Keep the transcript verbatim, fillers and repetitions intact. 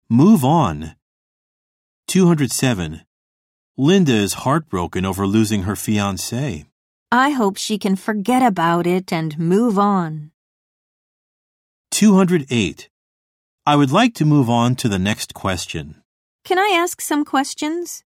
Move on. two hundred seven. Linda is heartbroken over losing her fiancé. I hope she can forget about it and move on. two hundred eight. I would like to move on to the next question. Can I ask some questions?